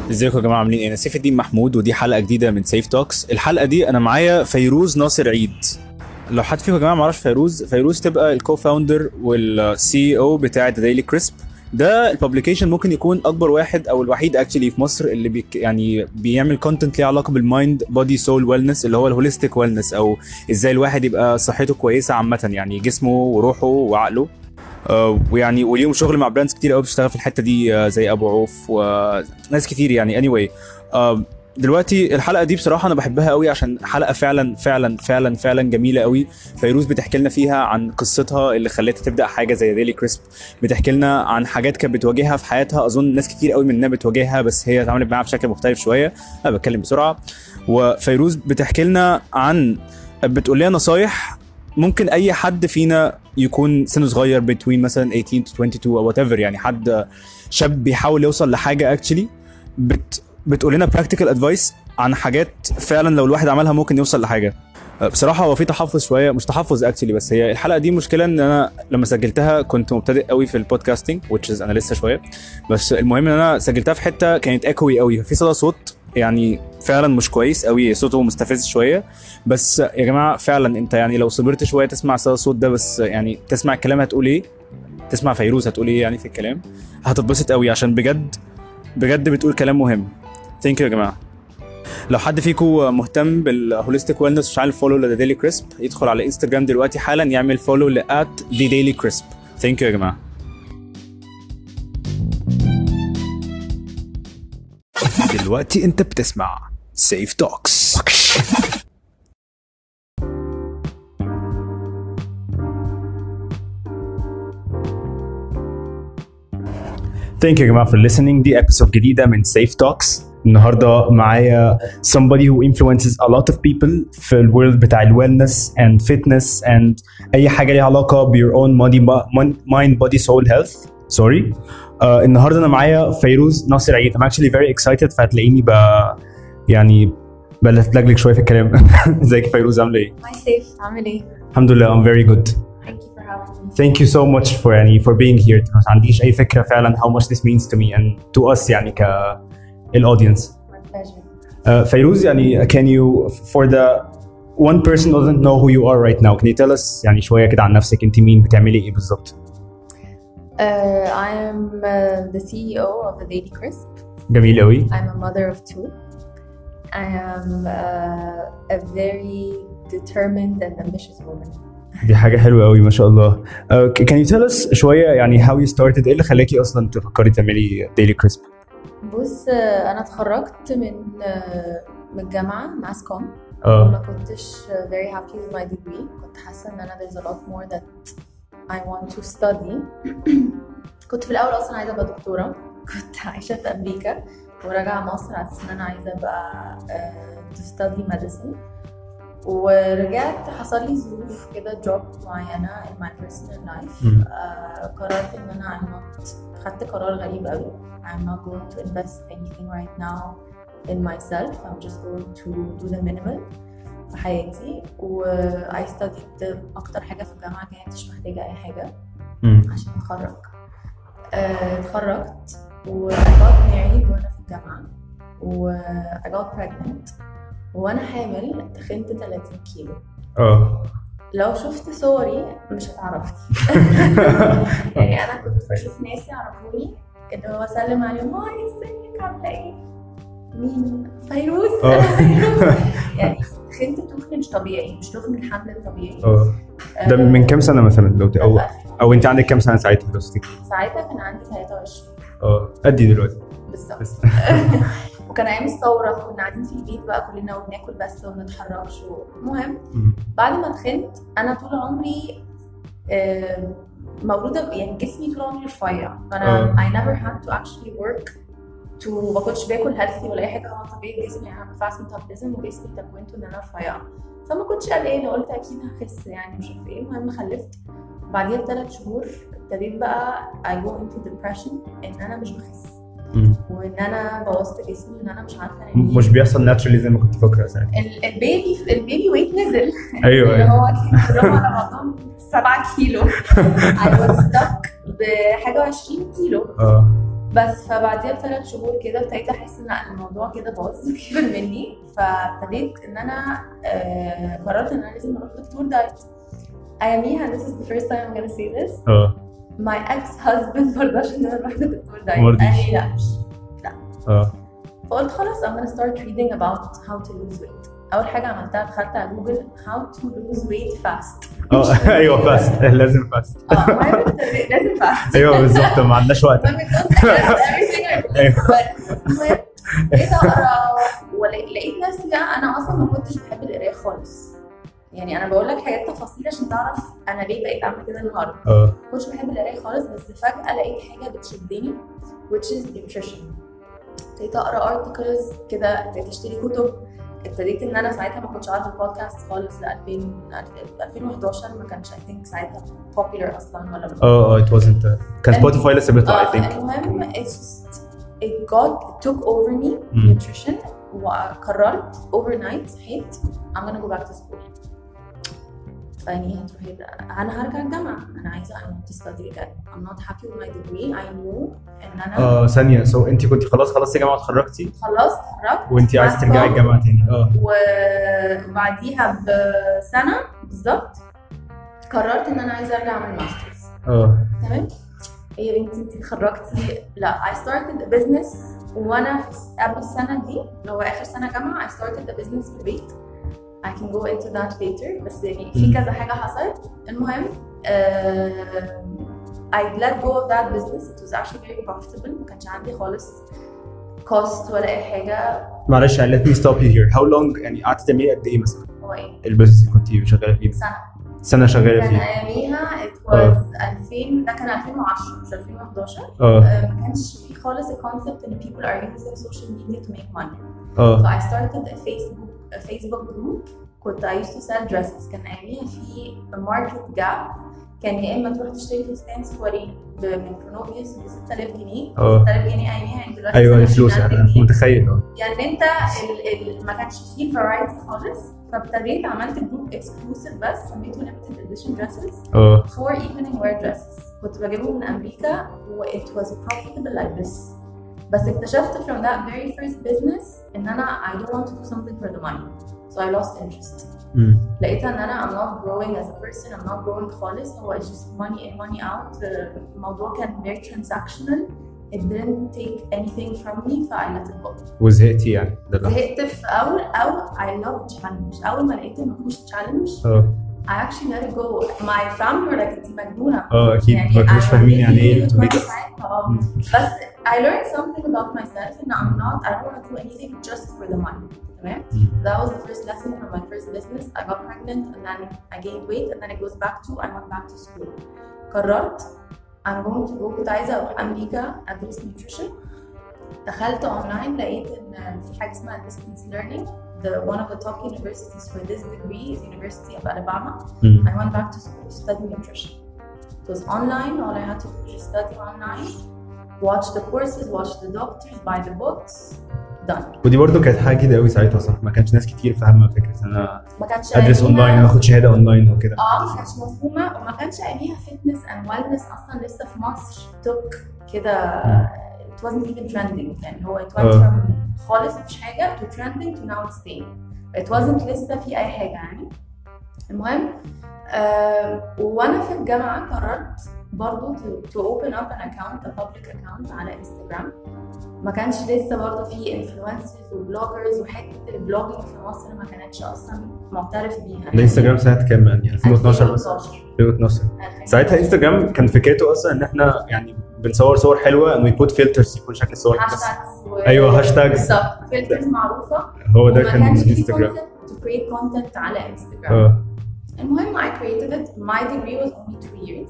ازيكم يا جماعه عاملين ايه؟ انا سيف الدين محمود ودي حلقه جديده من سيف توكس. الحلقه دي انا معايا فيروز ناصر عيد. لو حد فيكم يا جماعه ما يعرفش فيروز تبقى الكو فاوندر والسي او بتاع ديلي كريسب. ده الببليكيشن ممكن يكون اكبر واحد او الوحيد اكشلي في مصر اللي يعني بيعمل كونتنت ليه علاقه بالمايند بودي سول ويلنس، اللي هو الهوليستيك ويلنس، او ازاي الواحد يبقى صحته كويسه عامه، يعني جسمه وروحه وعقله. ويعني وليهم شغل مع براندز كتير قوي بتشتغل في الحته دي، زي ابو عوف وناس كتير يعني. anyway دلوقتي الحلقه دي بصراحه انا بحبها قوي عشان حلقه فعلا فعلا فعلا فعلا جميله قوي. فيروز بتحكي لنا فيها عن قصتها اللي خلتها تبدا حاجه زي ديلي كريسب، بتحكي لنا عن حاجات كانت بتواجهها في حياتها، اظن ناس كتير قوي مننا بتواجهها بس هي اتعاملت معاها بشكل مختلف شويه. انا بتكلم بسرعه. وفيروز بتحكي لنا بتقول لنا نصايح ممكن اي حد فينا يكون سنه صغير between مثلا 18 to 22 او whatever، يعني حد شاب بيحاول يوصل لحاجه actually بتقول لنا practical advice عن حاجات فعلا لو الواحد عملها ممكن يوصل لحاجه. بصراحه هو في تحفظ شويه، مش تحفظ actually، بس هي الحلقه دي مشكله ان انا لما سجلتها كنت مبتدئ قوي في البودكاستنج which is انا لسه شويه، بس المهم ان انا سجلتها في حته كانت ايكوي قوي، في صدى صوت يعني فعلا مش كويس قوي، صوته مستفز شويه. بس يا جماعه فعلا انت يعني لو صبرت شويه تسمع صدى الصوت ده، بس يعني تسمع الكلام هتقول ايه، تسمع فيروز هتقول ايه يعني في الكلام، هتتبسط قوي عشان بجد بجد بتقول كلام مهم. ثانك يو يا جماعه. لو حد فيكم مهتم بالهوليستيك ويلنس مش عارف فولو لديلي كريسب، يدخل على انستجرام دلوقتي حالا يعمل فولو @thedailycrisp. ثانك يو يا جماعه. دلوقتي انت بتسمع سيف توكس. Thank you يا جماعة for listening. دي episode جديدة من Safe Talks. النهاردة معايا somebody who influences a lot of people في الورلد بتاع wellness and fitness and أي حاجة ليها علاقة ب your own mind body soul health. sorry. النهاردة أنا معايا فيروز ناصر عيد. I'm actually very excited، فهتلاقيني يعني بلفلجلك شوية في الكلام. ازيك فيروز، عاملة ايه؟ Hi Saif، عامل ايه؟ الحمد لله I'm very good. Thank you so much for being here. ما عنديش أي فكرة فعلا how much this means to me and to us يعني audience. My pleasure. فيروز يعني can you for the one person who doesn't know who you are right now, can you tell us يعني شوية كده عن نفسك، انت مين، بتعملي ايه بالظبط؟ I am the CEO of the Daily Crisp. جميل قوي. I'm a mother of two. I am a very determined and ambitious woman. دي حاجة حلوة قوي ما شاء الله. Can you tell us شوية يعني how you started، ايه اللي خلاكي اصلا تفكري تعملي Daily Crisp؟ بص، انا اتخرجت من الجامعة ماس كوم. ما كنتش very happy with my degree. كنت حاسة ان انا there's a lot more that I want to study. كنت في الاول اصلا عايزة ابقى دكتورة، كنت عايشة في امريكا وراجعة مصر على اساس ان انا عايزة ابقى to study medicine. ورجعت حصل لي ظروف كده job معينة in my personal life. قررت ان انا خدت قرار غريب قوي. I'm not going to invest anything right now in myself. I'm just going to do the minimal في حياتي. I studied اكتر حاجة في الجامعة كانتش محتاجة اي حاجة عشان اتخرج. اتخرجت و I got married وانا في الجامعة و I got pregnant. وانا حامل تخنت 30 كيلو. لو شفت صوري مش هتعرفني. يعني انا كنت بشوف ناس يعرفوني اللي هو اسلم عليهم، هاي ازيك عامله ايه، مين فيروز. يعني تخنت تخن مش طبيعي، مش تخن الحمل الطبيعي. ده من كام سنه مثلا لو او انت عندك كام سنه ساعتها لو تفتكري؟ ساعتها كان عندي 23. قدي دلوقتي بالظبط. وكان ايام الثوره، كنا قاعدين في البيت بقى كلنا وبناكل بس وما بنتحركش. المهم بعد ما تخنت انا طول عمري مولوده يعني جسمي طول عمري رفيع، فانا I never had to actually work to ما كنتش باكل هيلثي ولا اي حاجه. هو طبيعي جسمي، انا فاست ميتابوليزم وجسمي تكوينته ان انا رفيعه، فما كنتش قلقانه، قلت اكيد هخس يعني مش عارفه ايه. المهم خلفت. بعديها ب3 شهور ابتديت بقى I go into depression ان انا مش بخس وان انا بوظت جسمي وان انا مش عارفه انام. مش بيحصل ناتشرالي زي ما كنت فاكره ساعتها. البيبي ويت نزل. ايوه اللي هو كلهم على بعضهم 7 كيلو. I was stuck بحاجه 20 كيلو. بس فبعديها ب3 شهور كده ابتديت احس ان الموضوع كده باظ كبر مني، فابتديت ان انا قررت ان انا لازم اروح دكتور دايت. اياميها this is the first time I'm gonna say this. my ex-husband مرضاش ان انا اروح لدكتور دايت، قال لي لا. فقلت خلاص I'm gonna start reading about how to lose weight. اول حاجه عملتها دخلت على جوجل how to lose weight fast. ايوه فاست، لازم فاست. لازم فاست. ايوه بالظبط، ما عندناش وقت. بقيت اقرا ولقيت نفسي انا اصلا ما كنتش بحب القرايه خالص. يعني انا بقول لك حاجات تفاصيل عشان تعرف انا ليه بقيت اعمل كده النهارده. ما كنتش بحب القرايه خالص، بس فجاه لقيت حاجه بتشدني which is nutrition. ابتديت اقرا ارتكلز كده، ابتديت اشتري كتب. ابتديت ان انا ساعتها ما كنتش عارفه البودكاست خالص. ل 2011 ما كانش I think ساعتها popular اصلا ولا it wasn't. كان سبوتيفاي لسه بيطلع I think. المهم it took over me nutrition. وقررت overnight صحيت I'm gonna go back to school. فاني هتروحي انا هرجع الجامعه، انا عايزه I want to study again. I'm not happy with my degree. I knew ان انا ثانيه انت كنت خلصتي جامعه واتخرجتي؟ خلصت اتخرجت وانت عايزه ترجعي الجامعه تاني. وبعديها بسنه بالظبط قررت ان انا عايزه ارجع اعمل ماسترز. تمام. يا بنتي انت اتخرجتي؟ لا I started a business وانا قبل السنه دي اللي هو اخر سنه جامعه I started a business في البيت. I can go into that later. بس يعني في كذا حاجة حصلت. المهم I let go of that business. It was actually very profitable. ما كانش عندي خالص cost ولا أي حاجة. معلش let me stop you here. How long يعني قعدت تعملي قد إيه مثلا؟ هو إيه؟ البيزنس اللي كنت شغالة فيه؟ سنة شغالة فيه. كان أياميها it was 2000. ده كان 2010 مش 2011. ما كانش في خالص الكونسبت إن people are using social media to make money. So I started a Facebook group. كنت I used to sell dresses. كان أياميها في market gap. كان يا إما تروح تشتري فستان سواري من كرونوفيوس ب 6000 جنيه. 6000 جنيه أياميها يعني دلوقتي. أيوة الفلوس أنا متخيل. يعني أنت ما كانش فيه variety خالص. فابتديت عملت جروب exclusive بس سميته limited edition dresses for evening wear dresses. كنت بجيبهم من أمريكا و it was profitable like this. بس اكتشفت from that very first business ان انا I don't want to do something for the money. So I lost interest. لقيتها ان انا I'm not growing as a person. I'm not growing خالص. هو just money in money out. الموضوع كان very transactional. It didn't take anything from me. So I let it go. وزهقتي يعني؟ زهقت في I love challenge. أول ما لقيت إن مفيش challenge I actually let it go. My family were like انتي مجنونة. أكيد ما كانوش فاهمين يعني إيه بس I learned something about myself and I don't want to do anything just for the money. تمام. That was the first lesson from my first business. I got pregnant and then I gained weight and then it goes back to I went back to school. قررت I'm going to go. كنت عايزة أروح أمريكا أدرس nutrition. دخلت online لقيت إن في حاجة اسمها distance learning. One of the top universities for this degree is University of Alabama. I went back to school to study nutrition. It was online. All I had to do was study online, watch the courses, watch the doctors, buy the books. Done. ودي برضه كانت حاجه جديده قوي ساعتها صح؟ ما كانش ناس كتير فاهمه فكره انا ما كانش ادرس اونلاين اخد شهاده اونلاين او كده. ما كانتش مفهومه وما كانش اياميها فيتنس اند ويلنس اصلا لسه في مصر توك كده. it wasn't even trending. يعني هو it went from خالص مفيش حاجه to trending to now it's staying. it wasn't لسه في اي حاجه يعني. المهم وانا في الجامعه قررت برضو to open up an account, a public account على انستغرام. ما كانش لسه برضو في انفلونسرز وبلوجرز وحته البلوجينج في مصر ما كانتش اصلا معترف بيها. الانستغرام ساعتها كام يعني 2012 بس 2012 ساعتها انستغرام كان فكرته اصلا ان احنا يعني بنصور صور حلوه and we put filters يكون شكل الصور بس. ايوه هاشتاج بالظبط فلترز معروفه. هو ده كان انستغرام to create content على انستغرام. المهم I created it. My degree was only 2 years.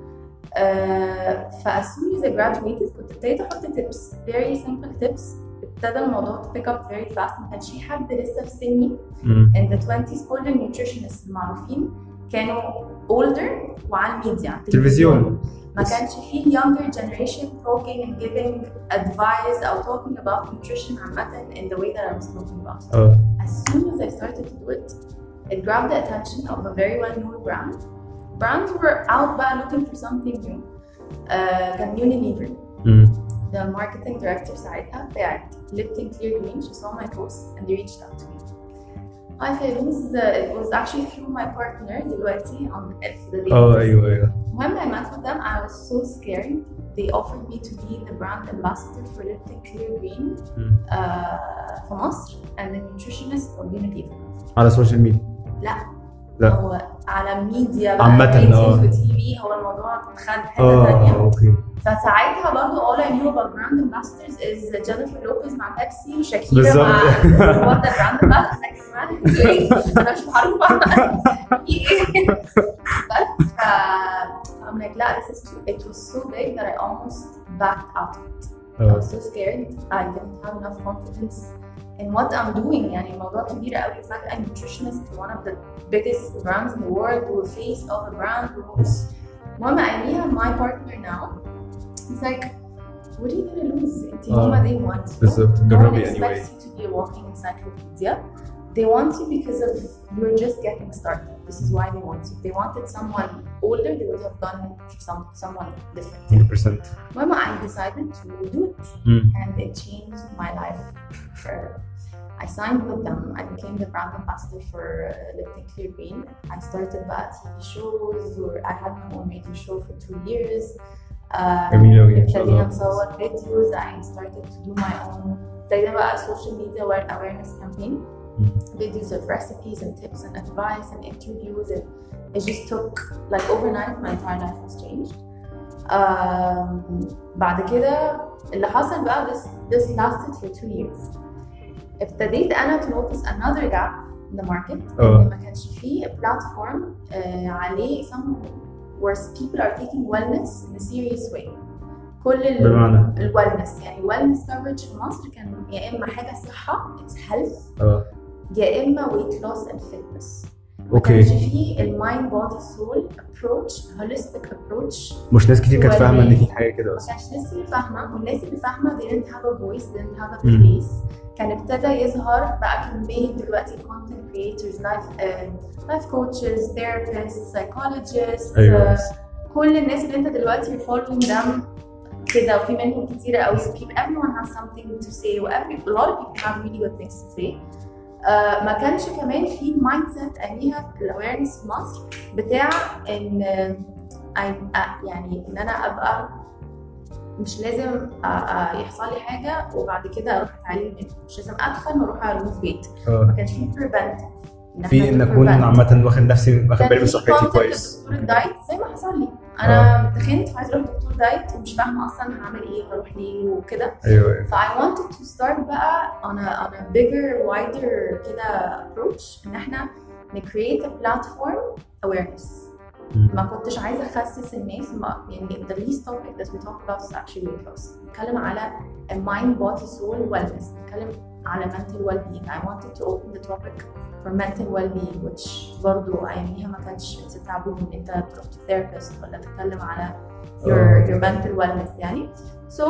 as soon as I graduated كنت ابتديت احط tips, very simple tips. ابتدى الموضوع to pick up very fast. ما كانش في حد لسه في سني in the 20s. كل النيوتريشنست المعروفين كانوا older وعلى الميديا تلفزيون. ما كانش في younger generation talking and giving advice or talking about nutrition عامة in the way that I was talking about. As soon as I started to do it, it grabbed the attention of a very well-known brand. Brands were out by looking for something new. كان Unilever. the marketing director ساعتها بتاعت Lipton Clear Green. She saw my posts and they reached out to me. Hi Fairuz, it was actually through my partner دلوقتي on the dating. ايوه. When I met with them, I was so scared. They offered me to be the brand ambassador for Lipton Clear Green في مصر and the nutritionist for Unilever. على السوشيال ميديا؟ لا هو على ميديا بقى عامة وتي في. هو الموضوع خد حته ثانيه. اوكي. فساعتها برضه all I knew about brand ambassadors is Jennifer Lopez مع بيبسي وشاكيرا مع برضه brand ambassadors. انا مش معروفه بس I'm like لا this is too. It was so big that I almost backed out of it. I was so scared. I didn't have enough confidence in what I'm doing. يعني الموضوع كبير قوي. فجأة nutritionist one of the biggest brands in the world و face of the brand. المهم أياميها my partner now he's like what are you gonna lose? انتي هما they want you. بالظبط. جربي anyway. No one expects you to be a walking encyclopedia. They want you because of you're just getting started. This is why they want you. If they wanted someone older, they would have done someone different. 100%. Mama, I decided to do it, and it changed my life forever. I signed with them. I became the brand ambassador for Lipton Clear Green. I started about TV shows, or I had my own radio show for 2 years. ابتدينا نصور videos. I started to do my own. ابتدينا بقى social media awareness campaign. Videos of recipes and tips and advice and interviews, and it just took like overnight my entire life was changed. بعد كده اللي حصل بقى this lasted for 2 years. ابتديت أنا to notice another gap in the market. ما كانش فيه platform عليه where people are taking wellness in a serious way. كل الوellness يعني wellness coverage في مصر كان يا إما حاجة صحة it's health يا إما weight loss and fitness. ما كانش فيه المايند بودي سول approach holistic approach. مش ناس كتير كانت فاهمة إن في حاجة كده أصلا. ما كانش ناس كتير فاهمة، والناس اللي فاهمة they didn't have a voice, they didn't have a place. كان ابتدى يظهر بقى كمية دلوقتي content creators, life coaches, therapists, psychologists. كل الناس اللي انت دلوقتي you're following them كده، وفي منهم كتيرة قوي. Everyone has something to say, a lot of people have really good things to say. ما كانش كمان في المايند سيت اياميها في الاويرنس في مصر بتاع ان يعني ان انا ابقى مش لازم يحصل لي حاجه وبعد كده اروح اتعلم، مش لازم ادخل واروح الوف بيت. ما كانش في بريفنتيف في ان اكون عامه واخد نفسي، واخد بالي من صحتي كويس. دكتور الدايت زي ما حصل لي انا تخنت وعايزه اروح دكتور دايت ومش فاهمه اصلا هعمل ايه هروح ليه وكده. ايوه. ف I wanted to start بقى on a bigger wider كده approach ان احنا create a platform awareness. ما كنتش عايزه اخسس الناس، يعني the least topic that we talk about is actually weight loss. نتكلم على mind body soul wellness، نتكلم على mental well-being. I wanted to open the topic for mental well-being which برضو أياميها ما كانش taboo إن أنت تروح to therapist ولا تتكلم على your mental wellness يعني. So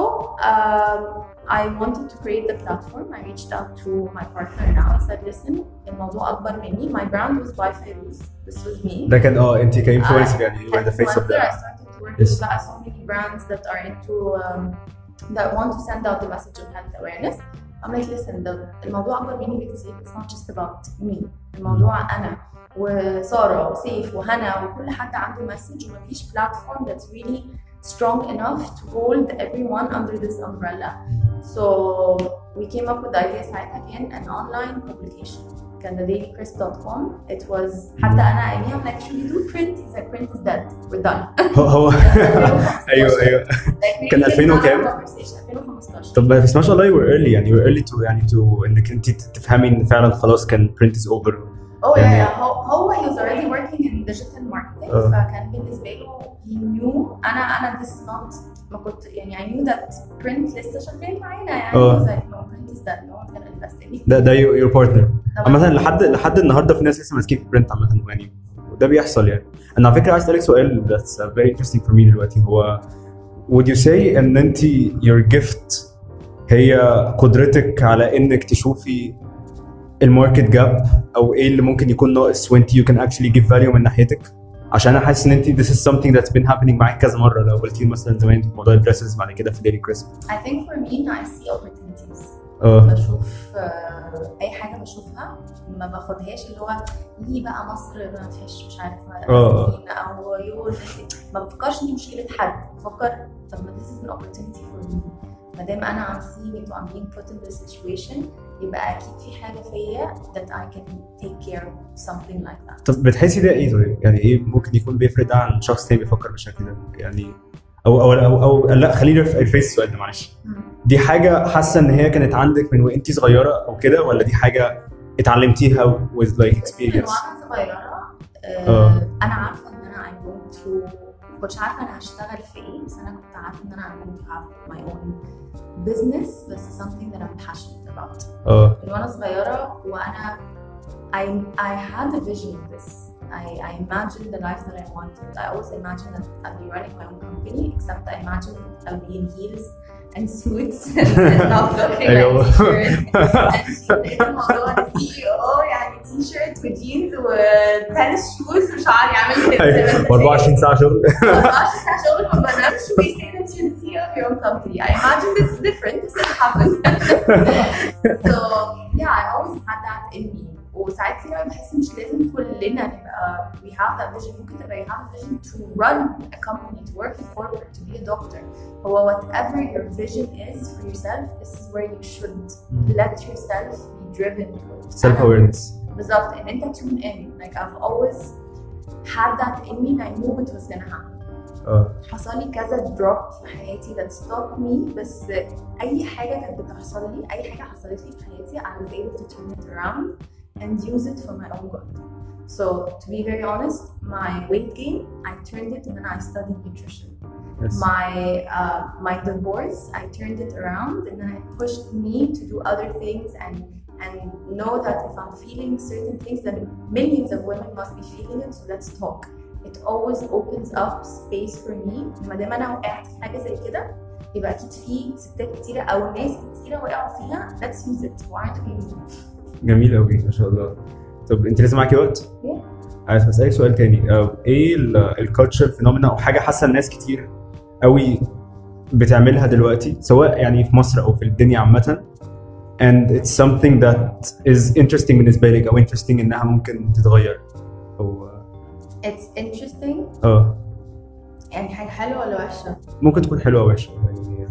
I wanted to create the platform. I reached out to my partner now. I said, listen, الموضوع أكبر مني. My brand was by Fairuz. This was me. ده كان أنت كinfluencer يعني you were the face of that. I started to work with so many brands that are into that want to send out the message of health awareness. I'm like, listen, الموضوع أكبر مني بكتير. It's not just about me. الموضوع أنا وسارة وسيف وهنا وكل حد عنده message، ومفيش platform that's really strong enough to hold everyone under this umbrella. So we came up with the idea ساعتها كان an online publication. كان thedailycrisp.com. It was حتى أنا أياميها I'm like, should we do print? He's like, print is dead. We're done. هو أيوه كان 2000 وكام؟ 2015. طب بس ما شاء الله you were early يعني you were early to إنك أنت تفهمي إن فعلا خلاص كان print is over. Oh يعني yeah. هو he was already working in digital marketing. فكان بالنسبة له he knew أنا this is not ما كنت يعني I knew that print لسه شغال معانا يعني. He's like no print is dead, no one's gonna invest in it. ده your partner. مثلا لحد النهارده في ناس لسه ماسكين في print عامة يعني، وده بيحصل يعني. أنا على فكرة عايز أسألك سؤال that's very interesting for me دلوقتي. هو would you say إن أنت your gift هي قدرتك على إنك تشوفي الماركت جاب او ايه اللي ممكن يكون ناقص وانت you can actually give value من ناحيتك عشان انا حاسس ان انت this is something that's been happening معاك كذا مره. لو قلتي مثلا زمان في موضوع الدريسز بعد كده في ديلي كريسب. I think for me I see opportunities. بشوف اي حاجه بشوفها ما باخدهاش اللي هو ليه بقى مصر ما فيهاش مش عارف او يقول ما بفكرش دي مشكله حد، بفكر طب ما this is an opportunity for me. ما دام انا I'm seeing it I'm being put in this situation يبقى اكيد في حاجه فيا that I can take care of something like that. طب بتحسي ده ايه طيب؟ يعني ايه ممكن يكون بيفرق ده عن شخص تاني بيفكر بالشكل ده؟ يعني او لا خلينا ريفيس السؤال ده معلش. دي حاجه حاسه ان هي كانت عندك من وانت صغيره او كده، ولا دي حاجه اتعلمتيها with like experience؟ وانا صغيره انا عارفه ان انا I'm going to كنتش عارفه انا هشتغل في ايه، بس انا كنت عارفه ان انا I'm going to have my own business بس something that I'm passionate about. من وانا صغيره وانا I had a vision of this. I imagined the life that I wanted. I always imagined that I'll be running my own company, except I imagined I'll be in heels and suits and not looking like t-shirt. And الموضوع CEO يعني t-shirt وجينز وتنس شوز وشعر يعمل كده 24 ساعة شغل 24 ساعة شغل ما بنامش we say that you're the CEO of your own company. I imagined it's different, this didn't happen. So yeah, I always had that in me. وساعات كتير بحس مش لازم كلنا نبقى we have that vision. ممكن تبقى you have a vision to run a company, to work in corporate, to be a doctor. هو whatever your vision is for yourself, this is where you should let yourself be driven towards. Self awareness. بالظبط ان انت tune in. Like I've always had that in me and I knew it was gonna happen. حصل لي كذا drop في حياتي that stopped me، بس أي حاجة كانت بتحصل لي، أي حاجة حصلت لي في حياتي I was able to turn it around and use it for my own good. So to be very honest, my weight gain, I turned it and then I studied nutrition. Yes. My divorce, I turned it around and then it pushed me to do other things and know that if I'm feeling certain things, then millions of women must be feeling it. So let's talk. It always opens up space for me. ما دام انا وقعت في حاجه زي كده يبقى اكيد في ستات كتيره او ناس كتيره وقعوا فيها. Let's use it. Why aren't we using it? جميل قوي ما شاء الله. طب انت لسه معاكي وقت؟ عايز اسالك سؤال تاني. ايه الكالتشر فينومينا او حاجه حاسه الناس كتير قوي بتعملها دلوقتي سواء يعني في مصر او في الدنيا عامه and it's something that is interesting بالنسبه لك او interesting انها ممكن تتغير او it's interesting يعني حاجه حلوه ولا وحشه؟ ممكن تكون حلوه او وحشه يعني.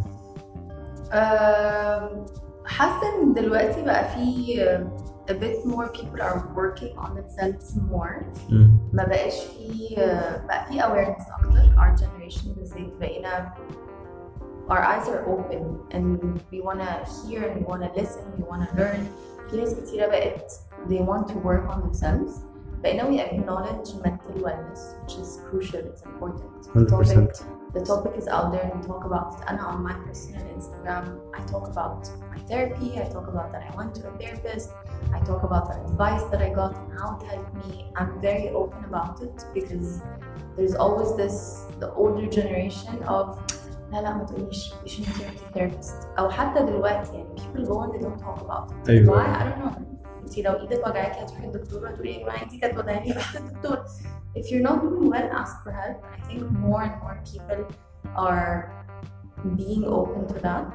حاسه ان دلوقتي بقى في a bit more people are working on themselves more. ما بقاش في بقى في awareness اكتر. Our generation بالذات بقينا our eyes are open and we wanna hear and we wanna listen, we wanna learn. في ناس كتيرة بقت they want to work on themselves. بقينا we acknowledge mental wellness, which is crucial, it's important. 100%. The topic is out there and we talk about it. أنا on my personal Instagram, I talk about my therapy, I talk about that I went to a therapist, I talk about the advice that I got and how it helped me. I'm very open about it because there's always the older generation of لا ما تقوليش you shouldn't see a therapist أو حتى دلوقتي يعني people go and they don't talk about it. أيوة. Why? I don't know. انت لو ايدك وجعاكي هتروحي للدكتور وهتقولي يا جماعه انت كانت وجعاني رحت للدكتور. If you're not doing well, ask for help. I think more and more people are being open to that.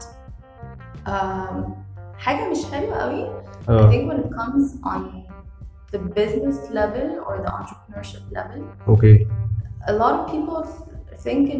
حاجة مش حلوة قوي. I think when it comes on the business level or the entrepreneurship level. Okay. A lot of people think in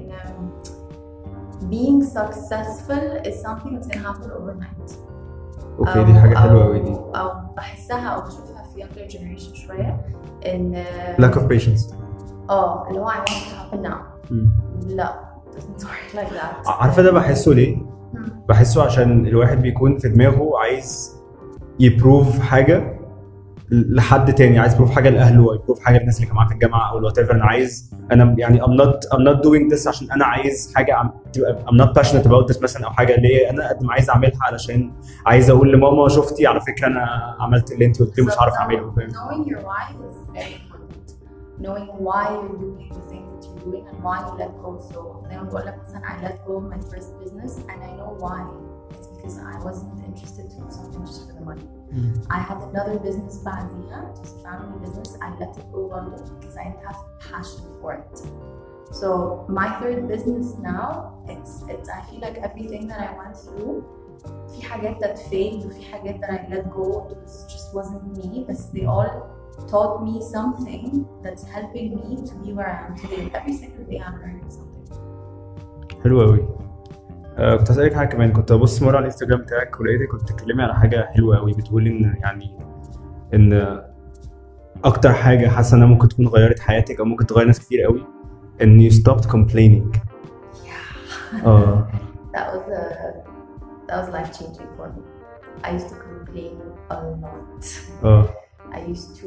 being successful is something that's gonna happen overnight. Okay, دي حاجة حلوة قوي دي. أو بحسها أو بشوفها في younger generation شوية إن lack of patience. اللي هو I want it to happen now. لا doesn't work like that. عارفة ده بحسه ليه؟ بحسه عشان الواحد بيكون في دماغه عايز يبروف حاجة لحد تاني، عايز يبروف حاجة لأهله أو يبروف حاجة للناس اللي كانوا معاه في الجامعة أو whatever. أنا يعني I'm not doing this عشان أنا عايز حاجة I'm not passionate about this مثلا، أو حاجة اللي أنا قد ما عايز أعملها علشان عايز أقول لماما شفتي على فكرة أنا عملت اللي أنت قلتيه مش عارف أعمله. Knowing your why is very important. Knowing why you're doing the things that you're doing and why you let go. So زي ما بقول لك مثلا I let go of my first business and I know why. It's because I wasn't interested to do something just for the money. I had another business بعديها, it was a family business. I let it go برضه because I didn't have passion for it. So my third business now, it's I feel like everything that I went through, في حاجات that failed وفي حاجات that I let go because it just wasn't me, but they all taught me something that's helping me to be where I am today. Every single day I'm learning something. حلو قوي. كنت هسألك حاجة كمان. كنت أبص مرة على الانستجرام بتاعك ولقيتك كنت بتتكلمي على حاجة حلوة قوي، بتقولي إن يعني إن أكتر حاجة حاسة إنها ممكن تكون غيرت حياتك أو ممكن تغير ناس كتير قوي إن you stopped complaining. That was life changing for me. I used to complain a lot. I used to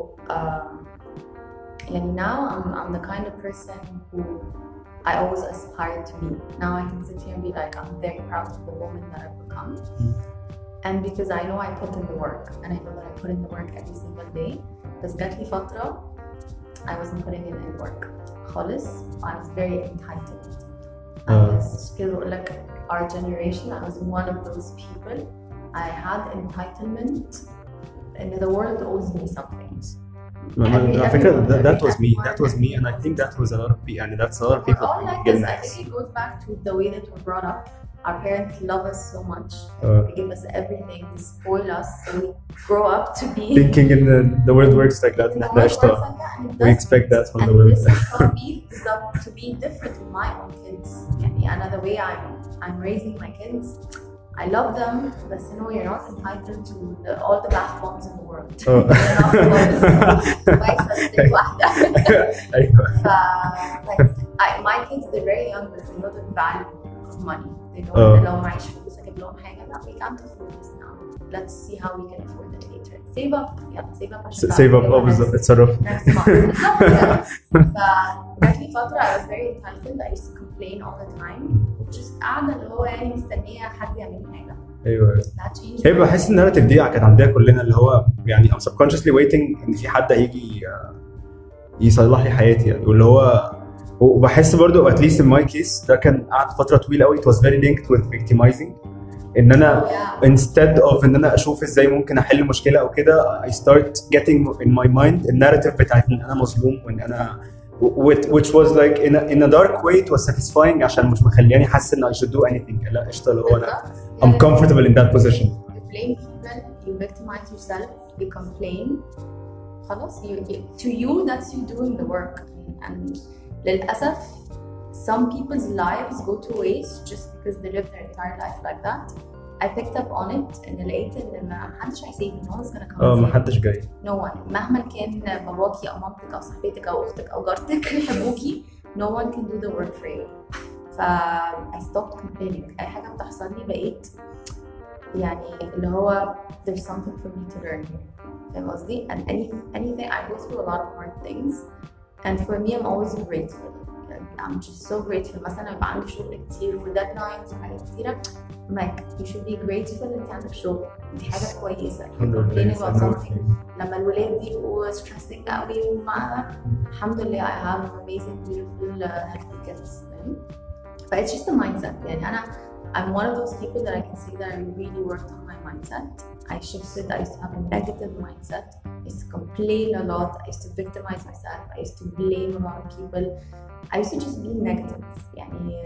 and now I'm the kind of person who I always aspire to be. Now I can sit here and be like, I'm very proud of the woman that I've become. And because I know I put in the work, and I know that I put in the work every single day. بس جات لي فترة I wasn't putting in any work خالص. I was very entitled. I was like our generation, I was one of those people. I had entitlement and the world owes me something. I think that was me and I think that was a lot of people, and that's a lot of people. We're all like this. I think it goes back to the way that we're brought up. Our parents love us so much. They give us everything, they spoil us, so we grow up to be thinking in the world works like that. We expect that from the world. And this has taught me to be different with my own kids. And the way I'm raising my kids, I love them, but you know, you're not entitled to all the bath bombs in the world. You're not my kids, they're very young, but they know the value of money. They know that لو معيش فلوس اجيب لهم حاجة. لا, we can't afford this now. Let's see how we can afford it later. Save up. Save up. Save up. بالظبط. اتصرف. Next month. فجات لي فترة I was very entitled. I used to complain all the time. Just قاعدة اللي هو يعني مستنية حد يعمل لي حاجة. ايوه. هي بحس الناراتيف دي كانت عندنا كلنا، اللي هو يعني I'm subconsciously waiting ان في حد هيجي يصلح لي حياتي يعني، واللي هو وبحس برضو at least in my case ده كان قعد فترة طويلة قوي. It was very linked with victimizing. ان انا instead of ان انا اشوف ازاي ممكن احل مشكلة او كده I start getting in my mind الناراتيف بتاعت ان انا مظلوم وان انا which was like in a dark way it was satisfying عشان مش مخلياني حاسس ان I should do anything. لا قشطة اللي هو انا I'm comfortable in that position. You blame people, you victimize yourself, you complain. خلاص to you that's you doing the work. And للأسف some people's lives go to waste just because they live their entire life like that. I picked up on it and لقيت ان ما حدش هيسيبني. No one's gonna come. ما حدش جاي. No one. مهما كان باباكي او مامتك او صاحبتك او اختك او جارتك يحبوكي, no one can do the work for you. I stopped complaining. اي حاجه بتحصل لي بقيت يعني اللي هو there's something for me to learn here. فاهم قصدي؟ And anything I go through a lot of hard things. And for me, I'm always grateful. I'm just so grateful. مثلا يبقى عندي شغل كتير وديدلاينز وحاجات كتيرة. Like you should be grateful إنك عندك شغل. دي حاجة كويسة. Complaining about something. لما الولاد يبقوا stressing قوي الحمد لله I have amazing beautiful healthy kids. But it's just a mindset. يعني I'm one of those people that I can say that I really worked on my mindset. I shifted. I used to have a negative mindset. I used to complain a lot. I used to victimize myself. I used to blame a lot of people. I used to just be negative. يعني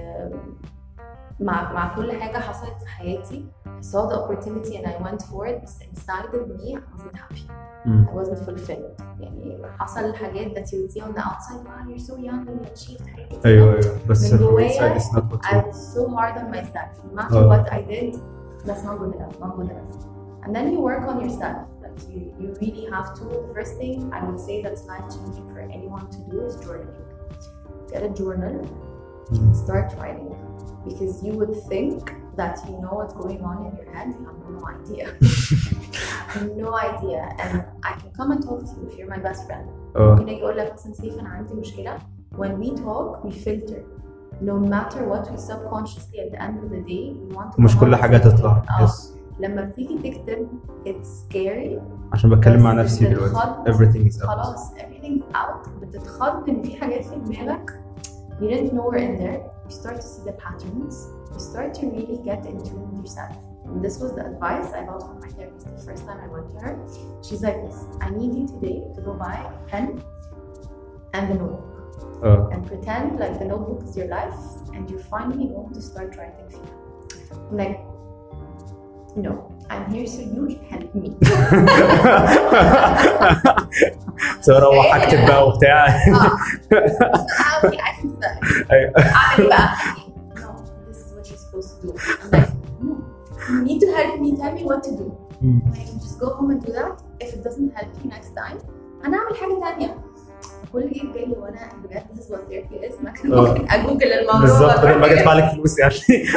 مع كل حاجة حصلت في حياتي I saw the opportunity and I went for it. But inside of me I wasn't happy. I wasn't fulfilled. يعني حصل حاجات that you would see on the outside. Wow, you're so young and you achieved حاجات. أيوة بس من جوايا I was so hard on myself. No matter what I did, that's not good enough. Not good enough. And then you work on yourself. Like you really have to. The first thing I would say that's life changing for anyone to do is journaling. Get a journal and start writing. Because you would think that you know what's going on in your head, you have no idea. No idea. And I can come and talk to you if you're my best friend. ممكن اجي اقول لك مثلا سيف انا عندي مشكلة. When we talk, we filter. No matter what, we subconsciously at the end of the day we want to. مش كل حاجة تطلع. لما بتيجي تكتب it's scary. عشان بتكلم مع نفسي دلوقتي. Everything is out. خلاص everything's out. بتتخض ان في حاجات في دماغك you didn't know were in there. you start to see the patterns, you start to really get in tune with yourself. And this was the advice I got from my therapist the first time I went to her. She's like, I need you today to go buy a pen and a notebook. And pretend like the notebook is your life and you're finally going to start writing فيها. I'm like, no, I'm here so you can help me. اروح اكتب بقى وبتاع. اعمل ايه بقى؟ No, this is what you're supposed to do. I'm like, no, you need to help me, tell me what to do. I can just go home and do that. If it doesn't help you next time, أنا أعمل حاجة تانية. كل اللي جه بالي وانا بجد this is what therapy is. ما كان ممكن اجوجل الموضوع بالظبط بدل ما ادفع لك فلوس يعني.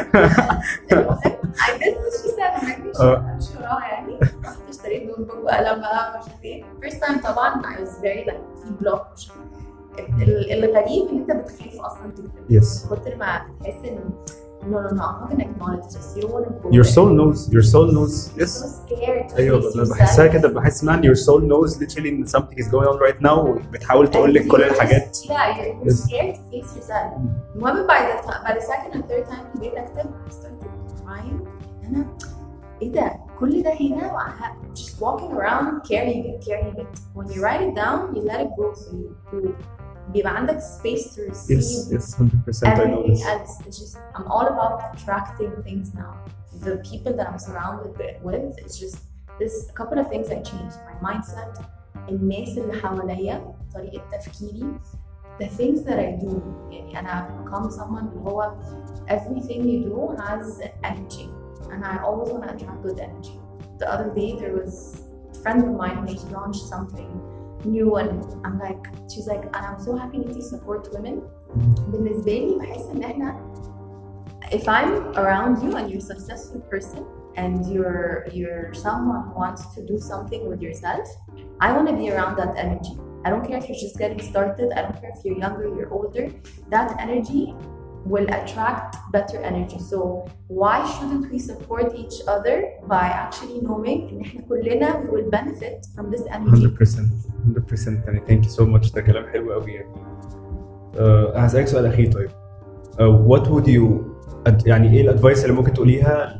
I did what she said. مش وراها يعني. رحت اشتريت نوت بوك وقلم بقى مش عارف ايه. First time طبعا I was very like blocked. الغريب ان انت بتخاف اصلا تكتب. Yes. كتر ما بتحس ان no, I'm not gonna acknowledge this. You don't want to go. Your soul knows. Your soul knows. Yes. So scared. أيوة أنا بحسها كده بحس man your soul knows literally that something is going on right now بتحاول تقول لك كل الحاجات. Yeah, you're scared to face yourself. المهم by the second and third time جيت أكتب I started crying. أنا إيه ده؟ كل ده هنا just walking around carrying it. When you write it down, you let it go so you بيبقى عندك space to receive. Yes, 100%. I know this. Else. It's just I'm all about attracting things now. The people that I'm surrounded with, it's just there's a couple of things I changed. My mindset, الناس اللي حواليا، طريقة تفكيري, the things that I do. يعني أنا become someone اللي هو everything you do has energy, and I always want to attract good energy. The other day there was a friend of mine who just launched something new and I'm like, she's like, and I'm so happy to support women. بالنسبة لي بحس إن إحنا if I'm around you and you're a successful person and you're someone who wants to do something with yourself, I want to be around that energy. I don't care if you're just getting started. I don't care if you're younger, you're older. That energy will attract better energy. So why shouldn't we support each other by actually knowing إن إحنا كلنا we will benefit from this energy. 100% يعني thank you so much. ده كلام حلو قوي يعني. هسألك سؤال أخير طيب. What would you يعني إيه الأدفايس اللي ممكن تقوليها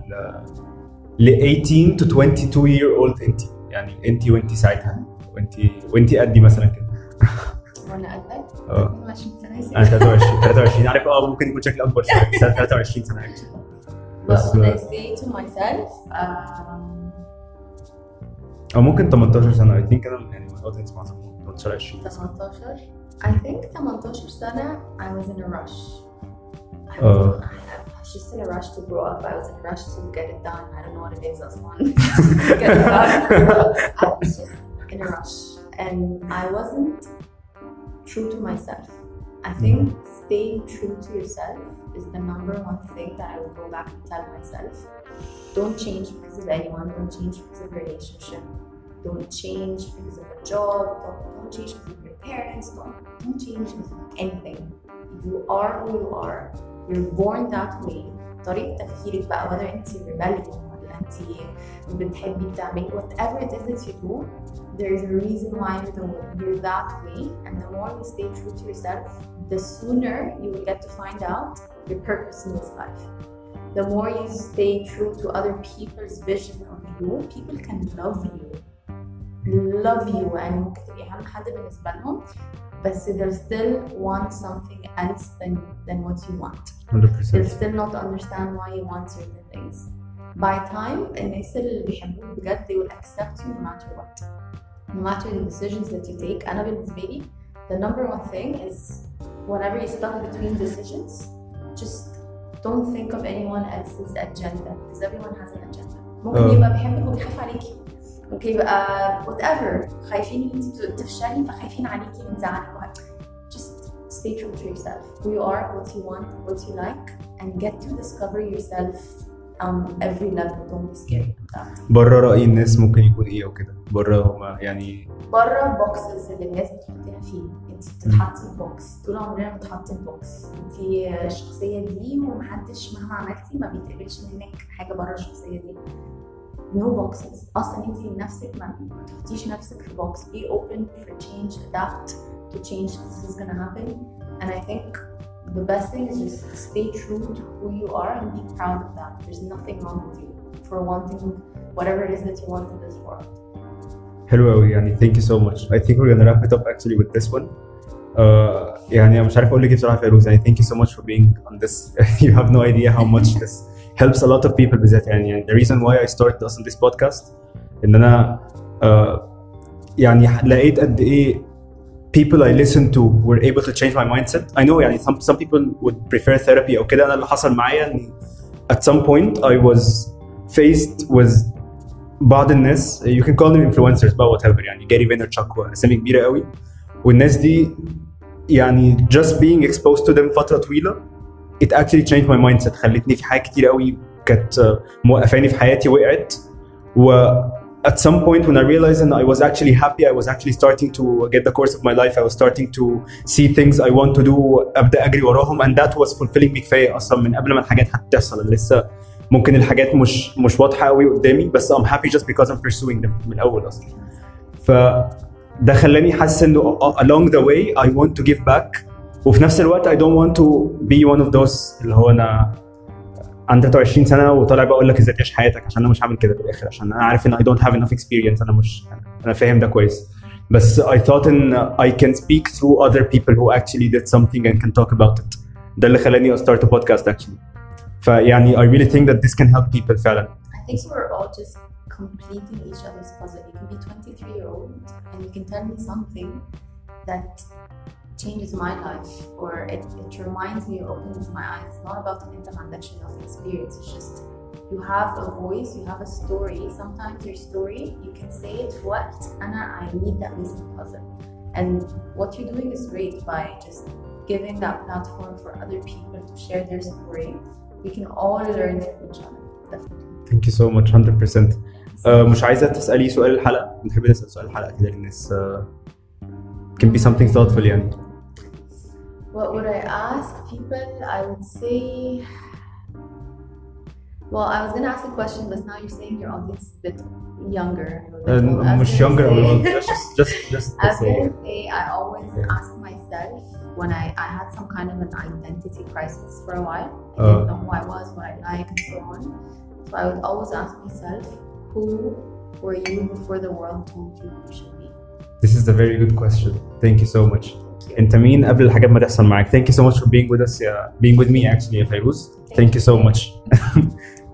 ل 18 to 22 year old أنت يعني أنت وأنت ساعتها وأنت قدي مثلا كده. وانا قدك 22 سنه انا 23 عارف ممكن يكون شكلي اكبر شويه 23 سنه بس I say to myself او ممكن 18 سنه I think انا يعني الاودينس مع 18 20 18 I think 18 سنه I was in a rush. I was just in a rush to grow up. I was in a rush to get it done. I don't know what it is as one. Get it done. I was just in a rush and I wasn't true to myself. I think staying true to yourself is the number one thing that I will go back and tell myself. Don't change because of anyone. Don't change because of a relationship. Don't change because of a job. Don't change because of your parents. Don't change because of anything. You are who you are. You're born that way. طريقة تفكيرك بقى whether انت rebellion ولا انت بتحبي تعملي whatever it is that you do, there's a reason why you're that way, and the more you stay true to yourself, the sooner you will get to find out your purpose in this life. The more you stay true to other people's vision of you, people can love you and ممكن تبقي أهم حد بالنسبة لهم, but they'll still want something else than what you want. 100%. They'll still not understand why you want certain things. By time, الناس اللي بيحبوك بجد they will accept you no matter what. No matter the decisions that you take. أنا بالنسبة لي the number one thing is whenever you're stuck between decisions, just don't think of anyone else's agenda because everyone has an agenda. ممكن يبقى بيحبك وبيخاف عليكي. ممكن يبقى whatever خايفين ان انت تفشلي فخايفين عليكي من زعلك. Just stay true to yourself. Who you are, what you want, what you like, and get to discover yourself on every level. Don't be scared of that. بره رأي الناس ممكن يكون ايه وكده بره هما يعني بره البوكسز اللي الناس بتحطيها فيه. انت بتتحطي في بوكس طول عمرنا بنتحط في بوكس. انت الشخصيه دي ومحدش مهما عملتي ما بيتقبلش منك حاجه بره الشخصيه دي. No boxes. أصلاً أنتي نفسك ما تحطيش نفسك في box. Be open for change, adapt to change. This is gonna happen, and I think the best thing is just stay true to who you are and be proud of that. There's nothing wrong with you for wanting whatever it is that you want in this world. حلو قوي يعني. thank you so much. I think we're gonna wrap it up actually with this one. يعني أنا مش عارف أقول لك إيه بصراحة فيروز يعني thank you so much for being on this. You have no idea how much this helps a lot of people بالذات يعني the reason why I started on this podcast إن أنا يعني لقيت قد إيه people I listen to were able to change my mindset. I know يعني some people would prefer therapy أو كده. أنا اللي حصل معايا إن at some point I was faced with بعض الناس you can call them influencers بقى whatever يعني جاري فينرتشاك وأسامي كبيرة قوي والناس دي يعني just being exposed to them فترة طويلة it actually changed my mindset. خلتني في حاجات كتير قوي كانت موقفاني في حياتي وقعت و at some point when I realized and I was actually happy, I was actually starting to get the course of my life. I was starting to see things I want to do. أبدأ أجري وراهم and that was fulfilling me كفاية أصلا من قبل ما الحاجات حتى تحصل. لسه ممكن الحاجات مش واضحة قوي قدامي بس I'm happy just because I'm pursuing them من الأول أصلا. فده خلاني حاسس إنه along the way I want to give back وفي نفس الوقت I don't want to be one of those اللي هو أنا عندي 23 سنة وطالع بقول لك ازاي تعيش حياتك عشان انا مش هعمل كده بالاخر عشان انا عارف ان I don't have enough experience. انا فاهم ده كويس بس I thought ان I can speak through other people who actually did something and can talk about it. ده اللي خلاني start a podcast actually. فيعني I really think that this can help people فعلا. I think we're all just completing each other's puzzle. You can be 23-year-old and you can tell me something that changes my life or it reminds me or opens my eyes. It's not about an interconnection of experience. It's just you have a voice, you have a story. Sometimes your story, you can say it what I need that missing puzzle. And what you're doing is great by just giving that platform for other people to share their story. We can all learn from each other. Definitely. Thank you so much 100%. مش عايزة تسألي سؤال الحلقة؟ نحب نسأل سؤال الحلقة كده للناس. Can be something thoughtful يعني. What would I ask people? I would say, well, I was going to ask a question, but now you're saying your audience is a bit younger. Much younger. Just I was going to say, I always ask myself when I had some kind of an identity crisis for a while. I didn't know who I was, what I like, and so on. So I would always ask myself, who were you before the world told you you should be? This is a very good question. Thank you so much. انت مين قبل الحاجات ما تحصل معاك. Thank you so much for being with us being with me actually يا فيروز. Thank you so much.